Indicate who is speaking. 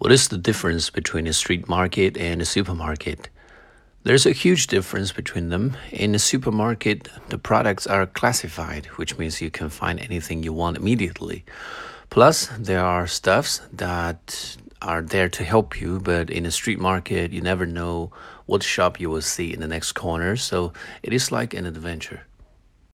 Speaker 1: What is the difference between a street market and a supermarket? There's a huge difference between them. In a supermarket, the products are classified, which means you can find anything you want immediately. Plus, there are stuffs that are there to help you, but in a street market, you never know what shop you will see in the next corner, so it is like an adventure.